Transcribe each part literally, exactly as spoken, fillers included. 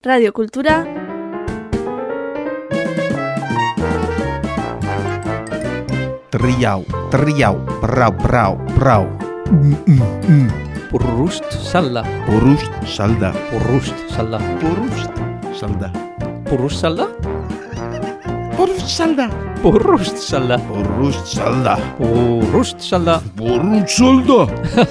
Radio Kultura Triau, triau, brau, brau, brau. Mm, mm, mm. Purrust salda. Purrust salda. Purrust salda. Purrust salda. Purrust salda? Purrust salda. Purrust salda. Purrust salda. Purrust salda. Purrust salda.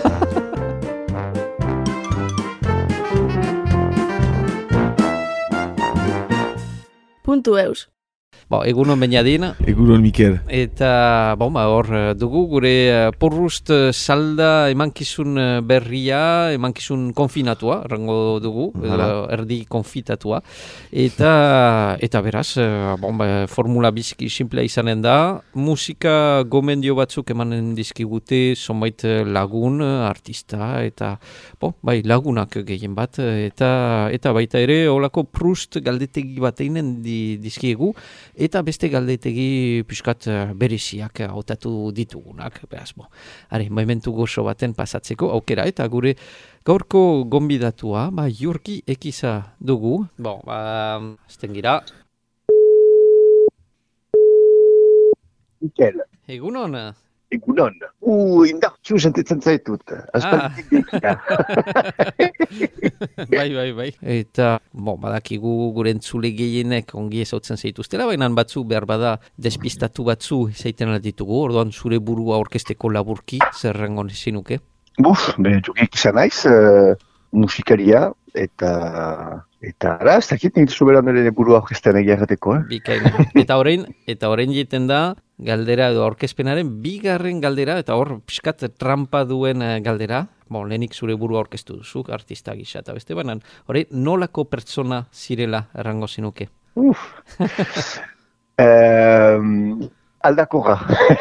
puntu eus. Bo, egunon Beñadin. Egunon Mikel. Eta, bon, ba, hor dugu gure uh, Purrust salda emankizun berria, emankizun konfinatua, rango dugu, uh, erdi konfitatua. Eta, eta beraz, uh, bon, ba, formula bizki simplea izanen da, musika gomendio batzuk emanen dizkigute, zonbait lagun, artista, eta, bon, bai, lagunak gehien bat, eta, eta baita ere, holako Proust galdetegi bat einen di, dizkiegu, eta beste galdetegi pixkat bereziak hautatu ditugunak. Beraz, bo, are, momentu gozo baten pasatzeko aukera, eta gure gaurko gonbidatua, ba, Jurki Ekiza dugu. Bo, ba, azten gira. Mikel. Egunon. Egunon. Uh, indartxu sentitzen zaitut. Aspalditik dikira. Bai, bai, bai. Eta, bon, badakigu gure entzule gehienek ongi ezautzen zaituztela, baina batzu behar bada despistatu batzu zaiten alditugu, orduan zure burua orkesteko laburki, zer rangon zinuke? Buf, be, jokik izan naiz, uh, musikaria, eta... Eta ara, ez dakit nintu zuberan ere burua orkestean egia errateko, eh? Bikain. Eta orain, eta orain jiten da, galdera edo orkespenaren bigarren galdera, eta hor pixkat trampa duen galdera, bon, lehenik zure burua orkestu duzu, artista gisa, eta beste banan, orain nolako pertsona zirela errango zinuke? Uf. um, aldakorra.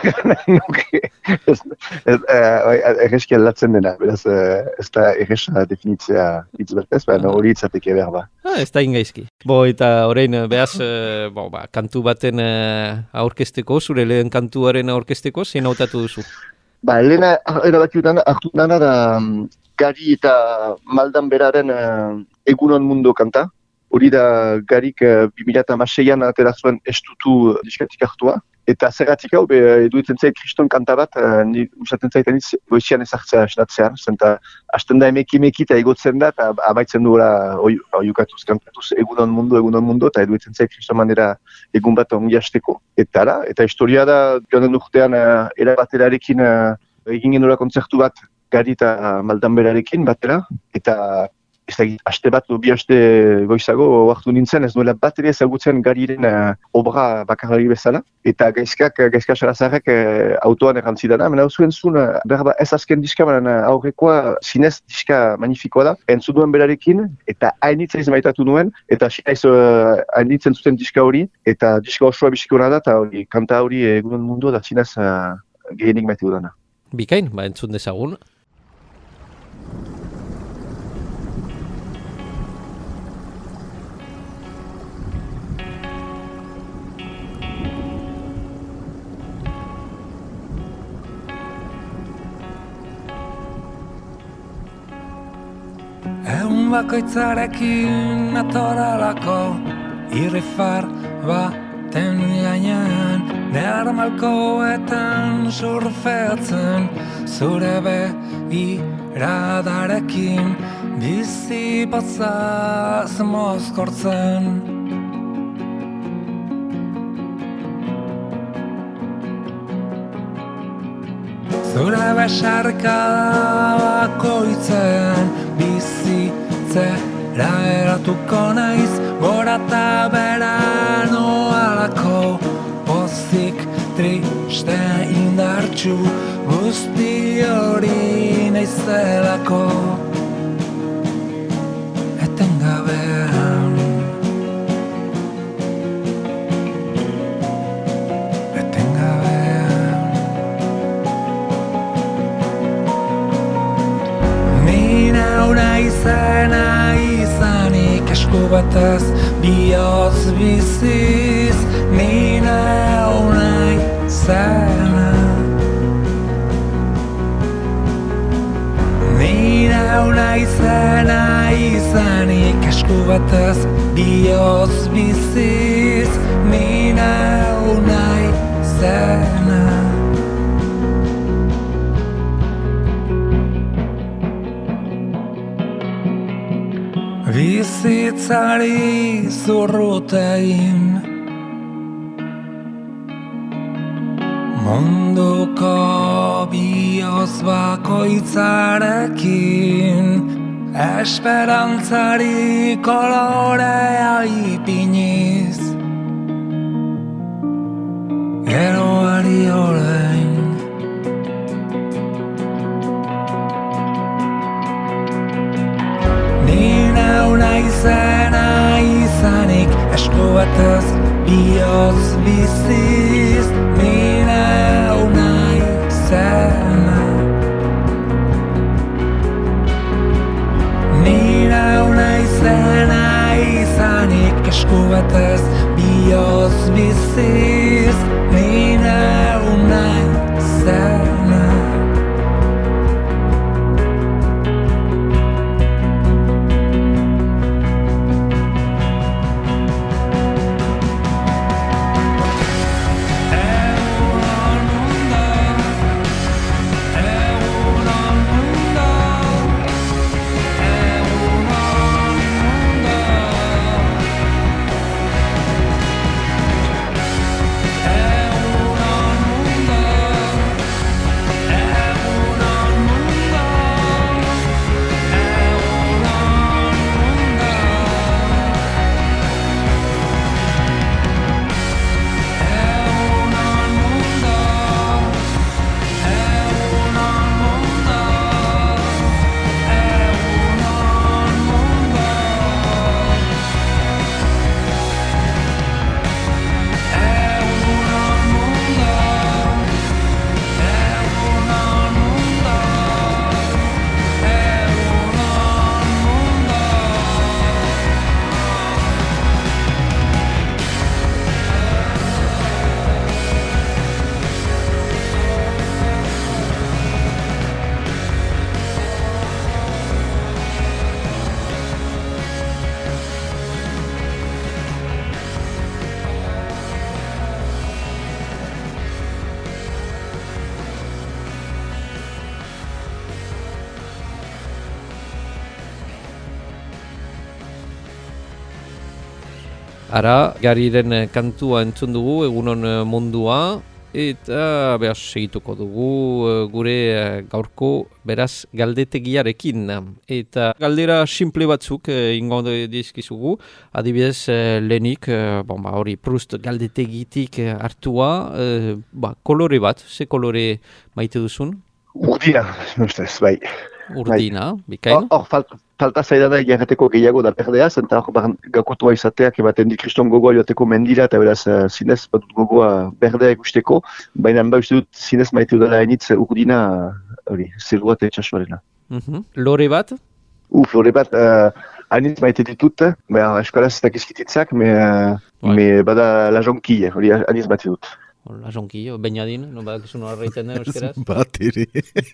Erreski aldatzen dena, beraz ez da erresa definitzea hitz bertez, baina hori itzateke behar ba. Ah, ez da ingaizki. Bo, eta orain, behaz, bo, ba, kantu baten aurkesteko, zure lehen kantuaren aurkesteko, zein hautatu duzu? Ba, lehena erabaki dutana, hartu dana da Gari eta Maldan beraren uh, Egunon Mundo kanta. Hori da Garik uh, bi mila hamaseian atera zuen estutu diskatik hartua. Eta zergatik hau, eduitzen zait kriston kanta bat, uh, ni usaten zaitan itz, goizian ezartzea esnatzean, zenta hasten da emeki-emeki eta egotzen da, eta abaitzen duela oiukatuz, kantatuz Egunon Mundo, Egunon Mundo, eta eduitzen zait kriston manera egun bat ongi hasteko. Eta ara, eta historia da, joan den urtean, uh, erabaterarekin uh, egin genula kontzertu bat, Gari eta Maldan berarekin batera, eta ez da, aste bat, bi aste goizago hartu nintzen, ez duela bat ere ezagutzen Gariren uh, obra bakarri bezala, eta gaizkak, gaizka sarazarrek uh, autoan errantzidana, mena zuen zuen, uh, berba ez azken diska, baina aurrekoa zinez diska magnifikoa da, entzun duen berarekin, eta hainitza izmaitatu nuen, eta sinaiz uh, hainitzen zuten diska hori, eta diska osoa bisikona da, eta hori, kanta hori Egunon Mundo da zinez uh, gehienik maite dudana. Bikain, ba entzun dezagun. Egun bakoitzarekin atoralako irrifar baten gainean Nearmalkoetan surfeatzen zure begiradarekin bizi patzaz mozkortzen Zure besarkada bakoitzean bizitzera eratuko naiz Gora eta bera noalako pozik triste indartxu Guzti hori naizelako Etengabean Izena izanik esku batez bihotz biziz Nina unai zena Nina una izena izanik esku batez bihotz biziz ni neu nahi zena. Bizitzari zurrut egin munduko bihotz bakoitzarekin esperantzari kolorea ipiniz geroari orain. Naizena izanik esku batez bihotz biziz ni neu naizena. Ni neu naizena izanik esku batez bihotz biziz ni neu naizena. Ara, gariren kantua entzun dugu, egunon mundua, eta behar segituko dugu gure gaurko beraz galdetegiarekin. Eta galdera simple batzuk ingo dizkizugu, adibidez lehenik, bon, ba, hori Proust galdetegitik hartua, ba, kolore bat, ze kolore maite duzun? Urdina, ustez, bai. Urdina, bikain? Hor, falta, falta zaidana jarreteko gehiago da perdeaz, eta hor gakotua izateak ematen di kriston gogoa joateko mendira, eta beraz zinez batut gogoa berdea ikusteko, baina ba uste dut zinez maite dudala hainitz urdina, hori, zerua eta etxasuarena. Uh-huh. Lore bat? Uf, lore bat, uh, hainitz maite ditut, beha eskolaz ez dakizkititzak, me, uh, ouais. me bada la jonquille, hori hainitz maite dut. La jonquille, bainadin, no badakizun horra egiten den euskeraz? Bat ere.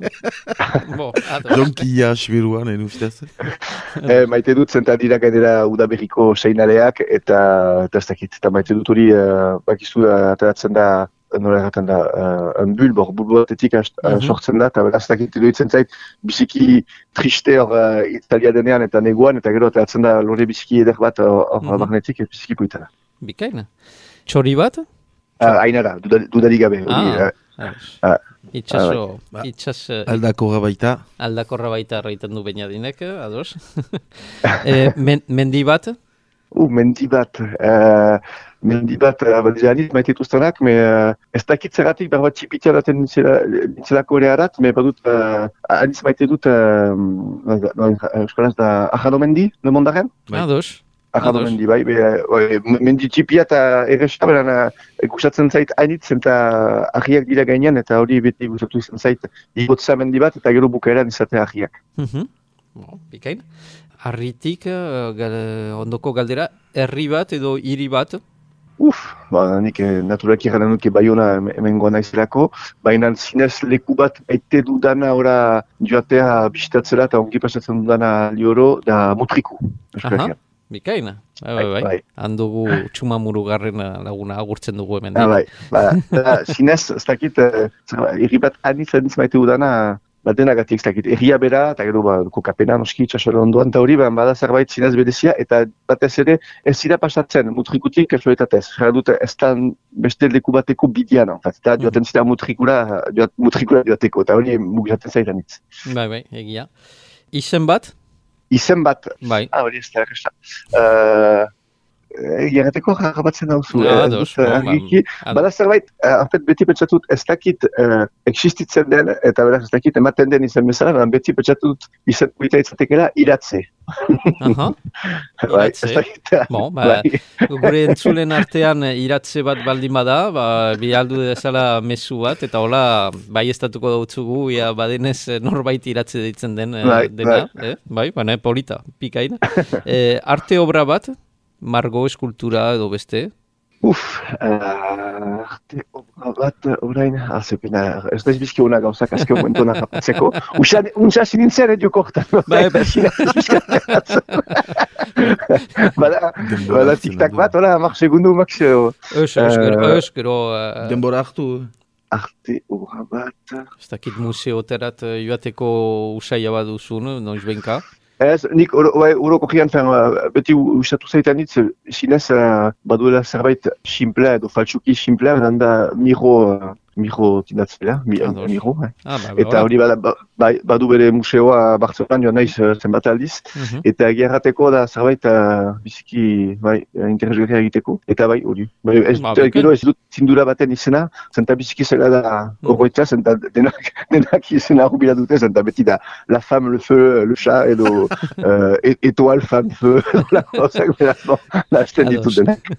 Bo, Jonquilla xberuan, en ustez? e, maite dut zenta dira gainera udaberriko seinaleak, eta ez dakit, eta maite dut hori, uh, bakizu ateratzen da, nola erraten da, uh, un bulbor, bulbo batetik uh, sortzen da, eta beraz dakit iruditzen zait, biziki triste hor uh, Italia denean eta neguan, eta gero ateratzen da lore biziki eder bat hor uh, mm-hmm. barnetik, ez biziki puitana. Bikaina. Txori bat? Uh, Ainara, dudarik gabe. Ah, uh, uh, itxaso, uh, itxas... Uh, aldakorra baita. Aldakorra baita arraiten du bainadinek, ados. e, men, mendi bat? Uh, mendi bat. Uh, mendi bat, badizia aniz maite dituztenak, me uh, ez dakit zeratik berbat txipitia daten nintzelako ere harat, me badut uh, aniz maite dut, eskolaz uh, da Ajado Mendi, le mondaren? Ados. Ajado Mendi, bai, be, bai, mendi txipia eta erresa, beran gustatzen zait hainitz, eta ahiak dira gainean, eta hori beti gustatu izan zait, igotza mendi bat, eta gero bukaeran izatea ahiak. Uh-huh. Bo, bikain. Arritik, uh, gal, ondoko galdera, herri bat edo hiri bat? Uf, ba, nik eh, naturalki gana nuke Baiona hemen goa naizelako, baina zinez leku bat aite dudana ora joatea bisitatzera eta ongi pasatzen dudana lioro da Mutriku. Euskal Aha, Herrian. bikaina. Bai, bai, bai. Bai. Handugu Txumamurugarren laguna agurtzen dugu hemen. Ah, bai, ba, da, zinez, ez dakit, eh, herri bat anitz anitz maite dudana, bat denagatik, ez dakit, herria bera, eta gero, ba, kokapena, noski, txasore ondoan, eta hori, ba, bada zerbait zinez berezia, eta batez ere, ez zira pasatzen, Mutrikutik, kasuetatez, jara dute, ez da beste leku bateko bidian, eta joaten zira Mutrikura, joat, Mutrikura joateko, eta hori mugizaten zaitan itz. Bai, bai, egia. Izen bat? Izen bat, Bai. ah, hori ez da, erresta. Uh, Egiagateko jarrabatzen dauzu. Ah, eh, ados, dut, eh, bon, argiki. ba, Bada zerbait, eh, en fait, beti pentsatut ez dakit eh, existitzen den, eta beraz ez dakit ematen den izan bezala, baina beti pentsatut izan kuita itzatekela iratze. Aha, Bai, iratze. ez dakit. Bon, ba, Bai. gure entzulen artean eh, iratze bat baldin bada, ba, bialdu dezala mezu bat, eta hola, bai estatuko dautzugu, ia badenez eh, norbait iratze deitzen den eh, Bai, dena, eh? Bai, baina polita, pikain. eh, arte obra bat, margo eskultura edo beste, Uf, uh, arte obra bat, orain, azepena, ez da izbizki hona gauzak azken momentuan harrapatzeko. Untsa sinintzen edo kortan. Bai, bai. Bada, Denbora bada hartzen tiktak du. bat, hola, hamar segundu maxio. Eus, eus, gero, Eh, eus, gero, eh, Denbora hartu. Arte obra bat... ez dakit museoterat eh, joateko usaila bat duzun, noiz benka. Ez, nik uroko jian, beti ustatu zaitan hitz, zinez, uh, baduela zerbait simplea edo faltsuki simplea, beran da miro, uh, miro tinatzela, mi, Ados. miro, eh. Ah, ba, Eta hori bada, ba, bai, badu bere museoa Bartzelonan joan naiz uh, zenbat aldiz, Mhm. eta gerrateko da zerbait uh, biziki, bai, interesgarria egiteko, eta bai, hori. Bai, ez, Ba, dut, bikain. gero ez dut zindura baten izena, zenta biziki zela da Mhm. horroitza, zenta denak, denak izena horrela dute, zenta beti da la femme, le feu, le chat, edo uh, étoile, femme, feu, la gauzak, beraz, bon, nahazten Ados. ditut denak.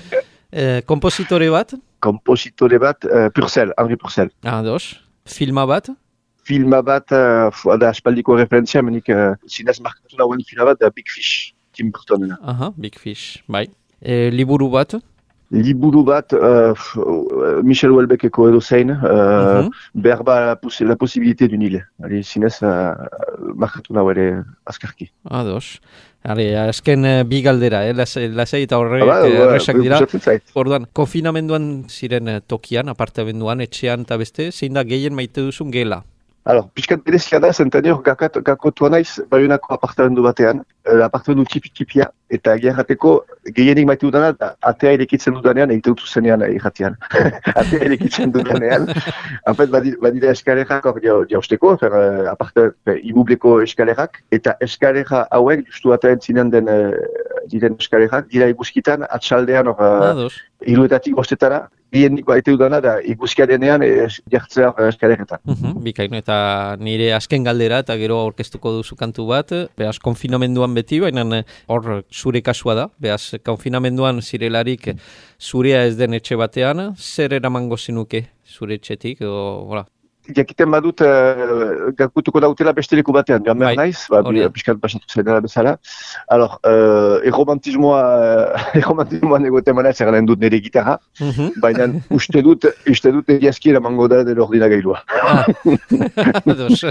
Eh, kompositore bat, Kompositore bat, uh, Purcell, Henri Purcell. ados, filma bat, Filma bat, uh, fu- da aspaldiko referentzia, menik uh, zinez markatu nauen filma bat, da Big Fish, Tim Burtonena. aha, Big Fish, bai. Eh, liburu bat, Liburu bat, uh, f- uh, Michel Houellebecqeko edo zein, uh, Mhm. berba la, possi- la posibilité d'une île. Ari, zinez, uh, markatu nau ere azkarki. ados. Hale, azken eh, bi galdera, eh? lasai, lasai eta horrek Ba, eh, ba, erresak dira. gustatzen zait. Orduan, konfinamenduan ziren eh, tokian, apartamenduan, etxean eta beste, zein da gehien maite duzun gela? Alors, pixkat berezia da, zentani hor gakat- gakotua naiz, Baionako apartamendu batean, uh, apartamendu tipi-tipia, eta gerrateko gehienik maite dudana, da, atea irekitzen dudanean, egite dut zuzenean irratian. Atea irekitzen dudanean, en fait, badi- badira eskalerak hor jau- jausteko, fer, uh, aparte, fer, ibubleko eskalerak, eta eskalera hauek, justu atean zinen den, uh, diren eskalerak, dira iguzkitan, atxaldean hor, uh, Ados. hiruetatik bostetara, gehienik maite dudana, da, iguzkia denean, es, jartzea uh, eskaleretan. Mhm, bikain, eta nire azken galdera eta gero aurkeztuko duzu kantu bat, behaz konfinamenduan beti, baina eh, hor zure kasua da, behaz konfinamenduan zirelarik zurea ez den etxe batean, zer eramango zinuke zure etxetik, edo, hola. Jakiten badut, uh, gakutuko dautela beste leku batean, joan behar Bai, naiz, ba, hori da. pixkat pasatu zaidala bezala. Alors, uh, erromantismoa, erromantismoan egoten manaz erranen dut nire gitarra, Mhm. baina uste dut, uste dut egiazki eramango da dela ordinagailua. Ah. Ados.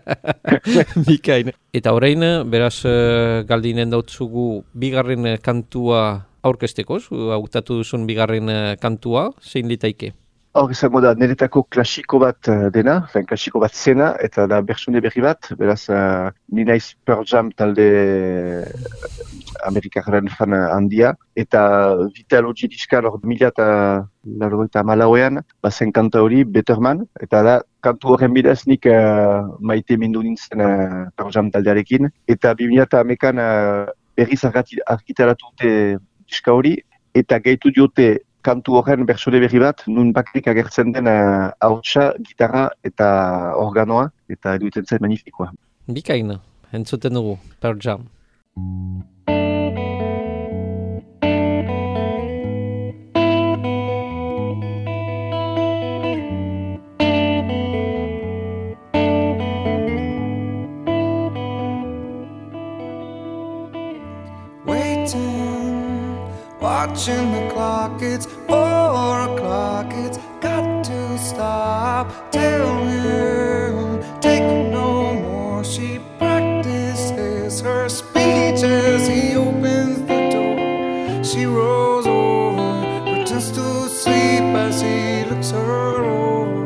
Bikain. Eta orain, beraz, eh, galdinen dautzugu bigarren eh, kantua aurkezteko, zu hautatu duzun bigarren eh, kantua, zein litaike? Hor izango da, niretako klasiko bat uh, dena, fen, klasiko bat zena, eta da bertsune berri bat, beraz, uh, ni naiz Pearl Jam talde uh, amerikarren fan uh, handia, eta Vitalogy diskan hor mila eta largoita malauean, bazen kanta hori, Better Man, eta da, kantu horren bidez nik uh, maite mindu nintzen uh, Pearl Jam taldearekin, eta bi mila eta hamekan uh, berriz argati- argitaratu dute diska hori, eta gehitu diote kantu horren bertsone berri bat, nun bakrik agertzen den uh, hautsa, gitarra eta organoa, eta eduiten zen magnifikoa. Bikain, entzuten dugu, Pearl Jam. Waiting, watching the clock. It's four o'clock, it's got to stop. Tell him, take no more. She practices her speech as he opens the door. She rolls over, pretends to sleep as he looks her over.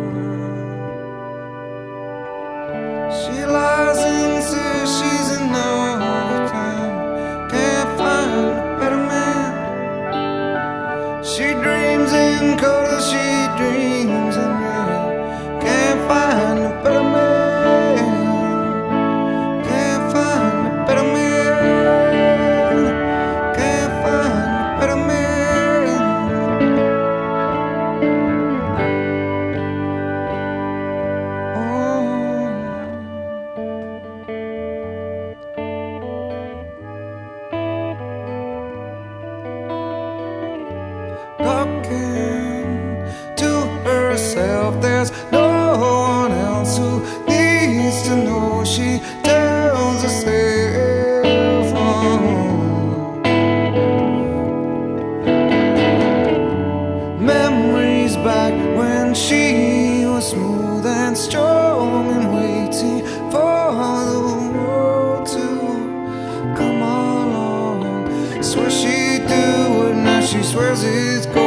She lies and says she's in love with him, can't find a better man. She dreams in color, she dreams in red, can't find a better man, can't find a better man, can't find a better man. Talking to herself, there's no one else who needs to know. She tells herself, oh. Memories back when she was smooth and strong and waiting for the world to come along. Swear she'd do it, now she swears it's gone.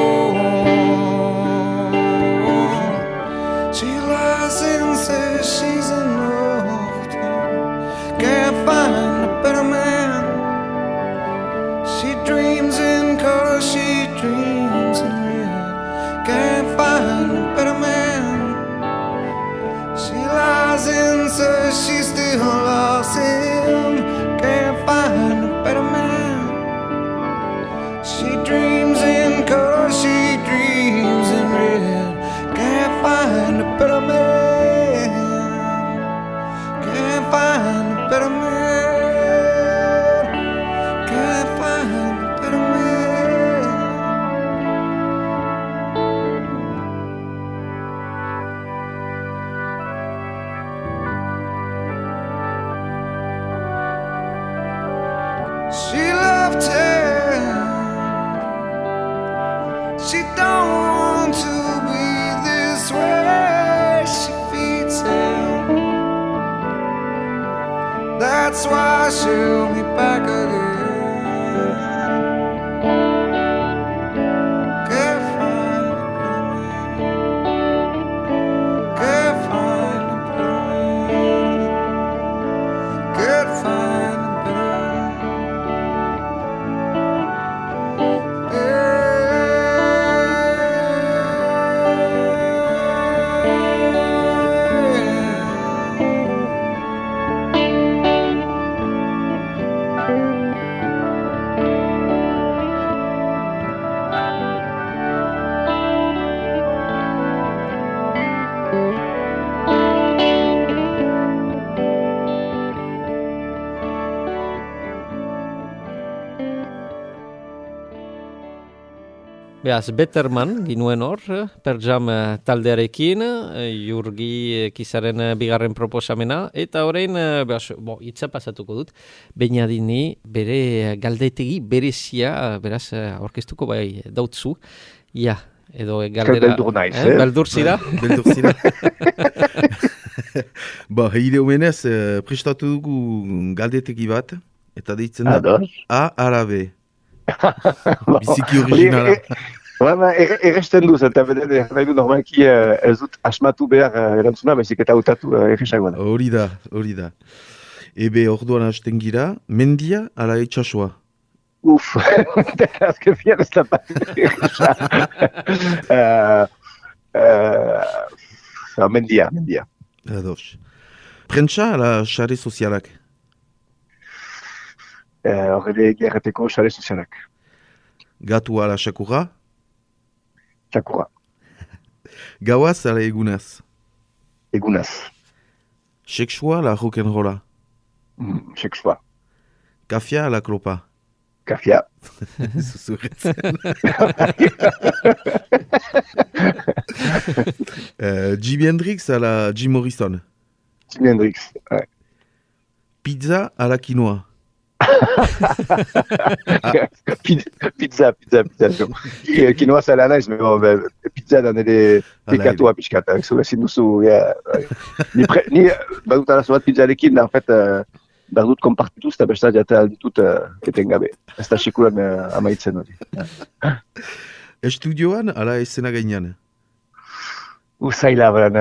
She lies and says she's in love with him, can't find a better man. She dreams in color, she dreams in red, can't find a better man. She lies and says she still loves him, can't find a better man. She dreams in color, she dreams in red, can't find a better man, can't find a better man, can't find a better man. She loved him, she don't want to be this way. She feeds him, that's why she'll be back again. Can't find a better man, can't find a better man, can't find a better Beaz, Betterman ginuen hor, per jam eh, taldearekin, eh, Jurgi Kizaren eh, bigarren proposamena, eta orain, eh, beaz, bo, itza pasatuko dut, Beñadini bere galdetegi berezia, beraz, eh, aurkeztuko bai dautzu, ja, edo eh, galdera... Beldur naiz, eh? eh? Beldur zira? Beldur zira. Ba, ide humenez, eh, prestatu dugu galdetegi bat, eta deitzen da Ados. A arabe. Biziki originala. Baina, erresten duz, eta beden, nahi du normalki eh, ez dut asmatu behar eh, erantzuna, baizik eta hautatu eh, erresagoa da. Hori da, hori da. Ebe orduan hasten gira, mendia ala etxasua. Uf, azken fian ez da bat erresa. Eh, eh, Mendia, mendia. Ados. Prentsa ala xare sozialak. Horre gerreteko xare sozialak. Gatu ala xakurra. Txakurra. Gauaz ala egunaz. Egunaz. Sexua ala rock'n'rolla. Mm, Sexua. Kafia ala klopa. Kafia. Zuzuretzen. uh, Jimi Hendrix ala Jim Morrison. Jimi Hendrix. Ouais. Pizza ala quinoa. pizza, pizza, pizza. Kinoa zela naiz, pero pizza da nire pekatua pixkat. Zure ezin duzu, ja. Ni badut arazo bat pizzarekin, da, en fait, behar dut konpartituz, eta besta jatea alditut etengabe. Ez da sekulan amaitzen hori. Estudioan, ala esena gainean? Uzaila, beren...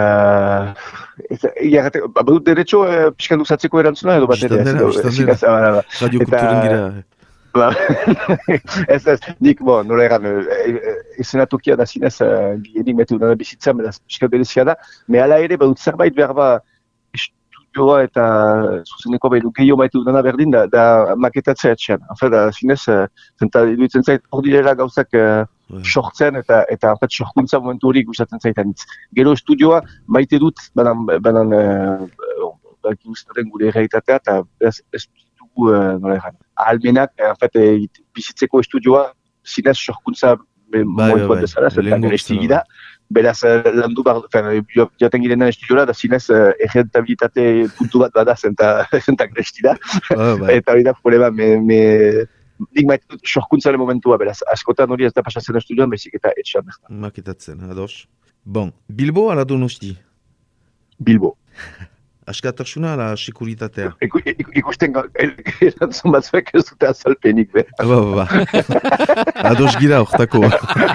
Badut derecho pixkan duzatzeko erantzuna edo bat ere? Istandera, istandera. Radio kulturen gira. Ez ez, nik, bo, nola egan, esenatokia da zinez, gienik metu dana bizitzan, beraz, pixka berezia da, me ala ere, badut zerbait behar ba, estudioa eta zuzeneko behilu gehiago maitu dana berdin, da, da maketatzea etxean. Hafe, da zinez, zenta iduitzen zait, hor direla gauzak sortzen eta, eta en fait, sorkuntza momentu hori gustatzen zaitan hitz. Gero estudioa maite dut, banan, banan, baki guztaren gure errealitatea, eta ez, ez dugu, nola egan, ahalmenak, en fait, bizitzeko estudioa, zinez sorkuntza momentu bat bezala, zenta geresti gira, beraz, landu bar, jaten girenan estudioa, da zinez errentabilitate puntu bat bada, zenta geresti da, eta hori da problema, me, me, nik maite dut sorkuntzaren momentua, beraz, askotan hori ez da pasatzen estudioan, bezik eta etxean. Maketatzen, ados. Bon, Bilbo ala Donosti? Bilbo. Askatasuna ala sekuritatea? Ikusten erantzun batzuek ez dute azalpenik, be. Ba, ba, ba. Ados gira hortako.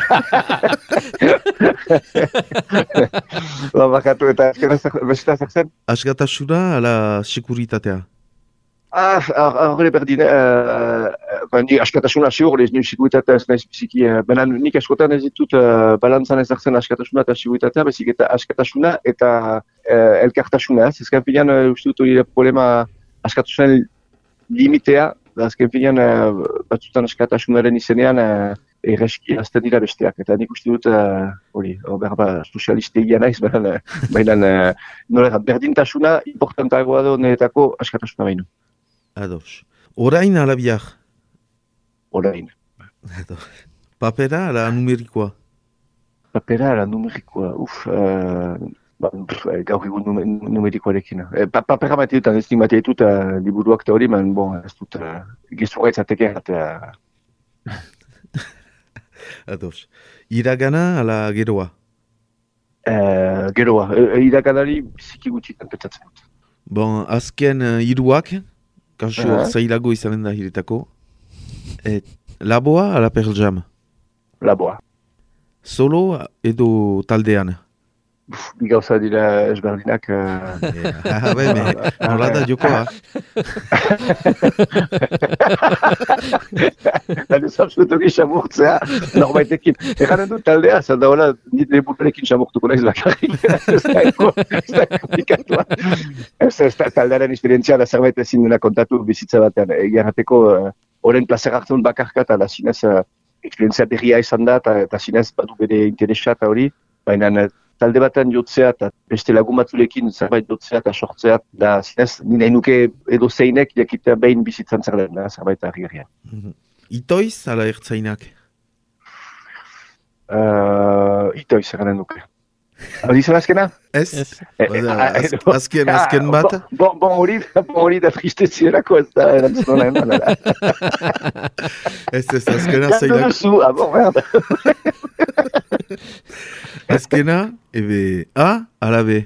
Ba, bakatu eta besta zakzen? Askatasuna ala sekuritatea? Ah, horre berdin, ni askatasuna ziur, ez nire siguritatea ez nahiz biziki, baina nik askotan ez ditut balantzan ezartzen askatasuna eta siguritatea, bezik eta askatasuna eta elkartasuna, ez ezken finean uste dut hori problema askatasunen limitea, da ezken finean batzutan askatasunaren izenean erreski azten dira besteak, eta nik uste dut hori, berba sozialistegia naiz, baina nola berdintasuna importantagoa da honetako askatasuna baino. Ados. Orain ala biak? Orain. Ados. Papera ala numerikoa? Papera ala numerikoa, uf, uh, ba, gaur egun numerikoarekin. E, pa, papera maite dut, ez nik maite dut uh, liburuak eta hori, man, bon, ez dut uh, giztura itzateke. Uh... Ados. Iragana ala geroa? Uh, geroa. E, iraganari biziki gutxitan petzatzen dut. Bon, azken uh, hiruak, kasu uh -huh. zailago izanen da hiretako. Et, laboa ala Pearl Jam? Laboa. Solo edo taldean? Bi gauza dira ezberdinak. Ah, bai, me, nola da jokoa? Lan ez absolutoki xamurtzea, norbaitekin. Eganen dut taldea, zer da hola, nit leburekin xamurtuko naiz bakarrik. Ez da komplikatua. Ez da taldearen esperientzia da zerbait ezin dena kontatu bizitza batean. Egiarrateko, horren plazer hartzen bakarka eta zinez esperientzia berria izan da eta zinez badu bere interesa eta hori, baina talde batean jotzea eta beste lagun batzulekin zerbait jotzea eta sortzea, da zinez, nina nuke edo zeinek jakitea behin bizitzan zer den, zerbait harri-harrian. Mm-hmm. Itoiz ala ertzainak? Uh, itoiz eranen nuke. Hori zen azkena? Ez? Azken, azken bat? Bon hori bon, da tristezierako ez da erantzuna eman. Ez ez, azkena zeilak. Gandu duzu, ah bon, merde. Azkena, ebe A ala B?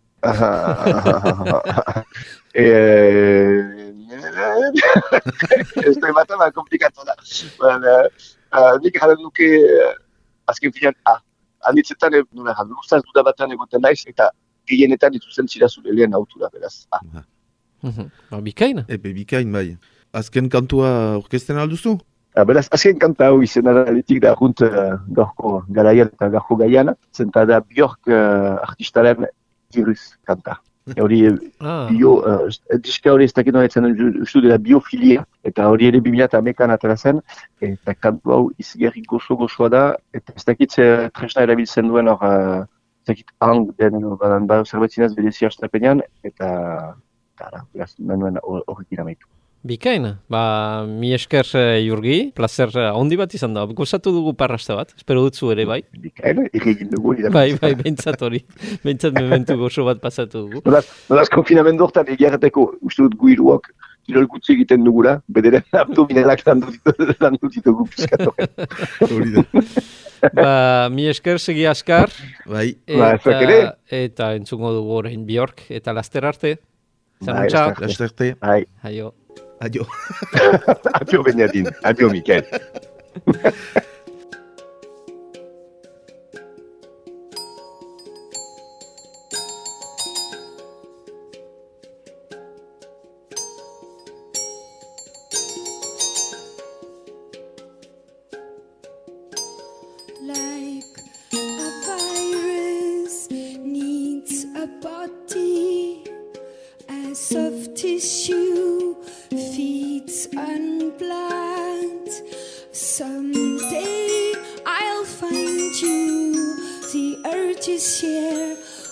Ez da ematan komplikatu da. Nik garen nuke azken finean A. Handitzetan, nuna, luzaz dudabatan egoten naiz, eta gehienetan dituzen zirazure lehen autura, beraz. Ah. Uh-huh. Bikain? Ebe, bikain, bai. Azken kantua orkesten alduzu? Ah, beraz, azken kanta hau izena da litik da junt uh, gorko garaian eta gorko gaian, zenta da Björk uh, artistaren virus kanta. Hori, ah. bio, uh, diska hori ez dakit horretzen ustu dela biofilia, eta hori ere bi mila hamekan atera zen, eta kantu hau izigarri gozo-gozoa da, eta ez dakit tresna erabiltzen duen hor, uh, ez dakit hang den, badan bar zerbait zinez bedezi hastapenean, eta, eta, beraz, menuen horrekin amaitu. Bikain, ba, mi esker eh, Jurgi, placer eh, handi bat izan da. Gozatu dugu parrasta bat, espero dut zu ere, bai? Bikain, egin dugu. irabazi. Bai, bai, behintzat hori. Behintzat mementu gozo bat pasatu dugu. Nolaz, nolaz konfinamendu hortan egiarreteko, uste dut gu hiruak kirol gutxi egiten dugula, bederen abdominalak landu ditu- landu ditugu pizkatu. Hori da. Ba, mi esker segi askar, Bai, Ba, zuek ere. eta, eta entzungo dugu orain Bjork, eta laster arte. Bai, Zanuntza, laster. lastarte. Ai, aio. Adio. adio Benjadin, adio Mikel. Like a virus needs a body, as soft tissue feeds on blood. Someday I'll find you, the urge is here.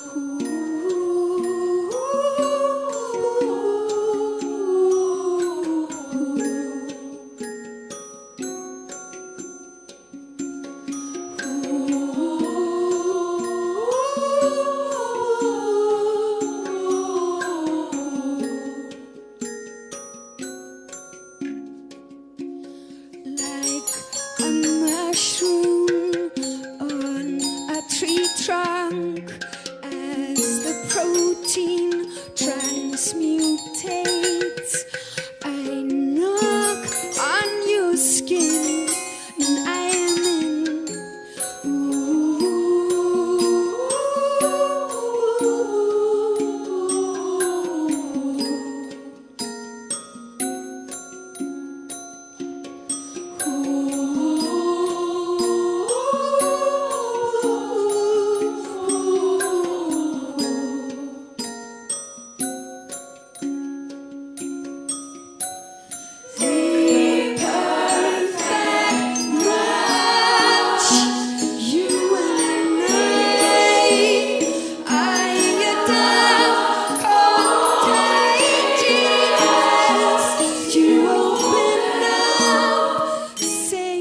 Like a mushroom on a tree trunk, as the protein transmutates, I knock on your skin and I am in. The perfect match, you and I. I adore contagious. You open up, say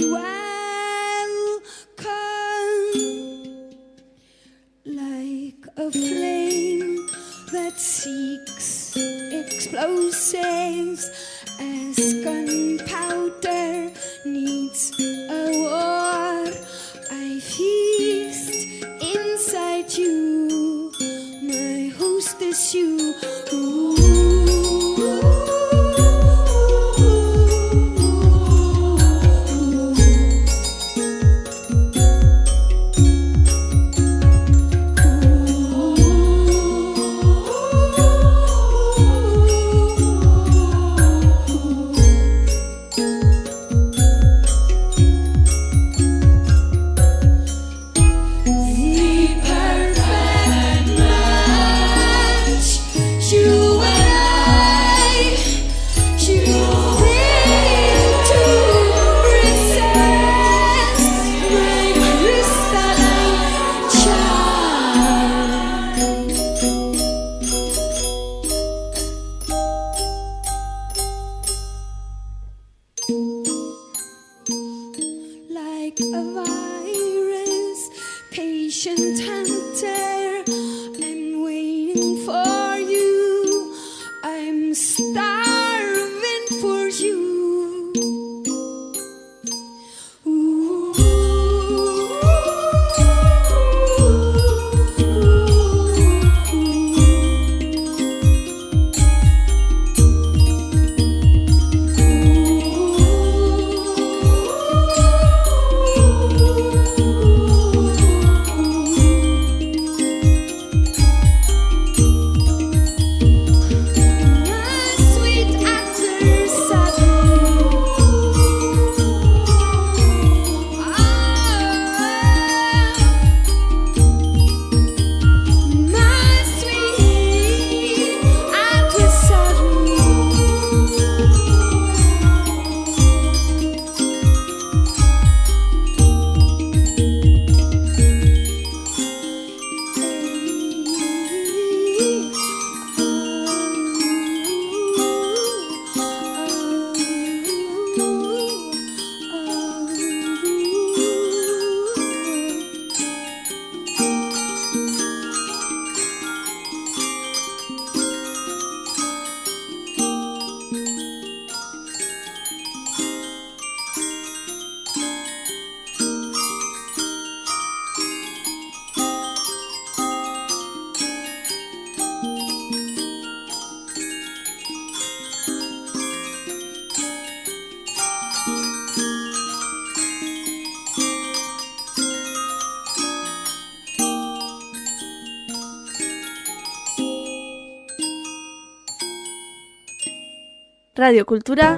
welcome. Like a flame that seeks explosives, as gunpowder needs a war. I feast inside you, my hostess you. The perfect match, you and I. You fail to resist my crystalline charm. Like a virus, patient hunter, I'm waiting for you. I'm starving for you. My sweet Radio Kultura.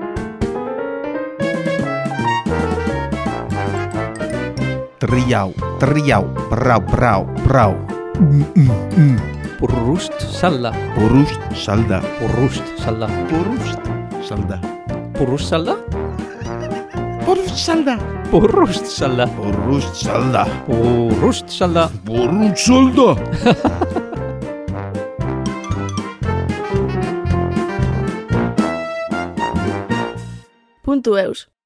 Triau, triau, brau, brau, brau. Mm, mm, mm. Purrust salda. Porust salda. Purrust salda. Porust salda. Purrust salda? Porust salda. Purrust salda. Porust salda. Purrust salda. Porust salda. Puntu eus.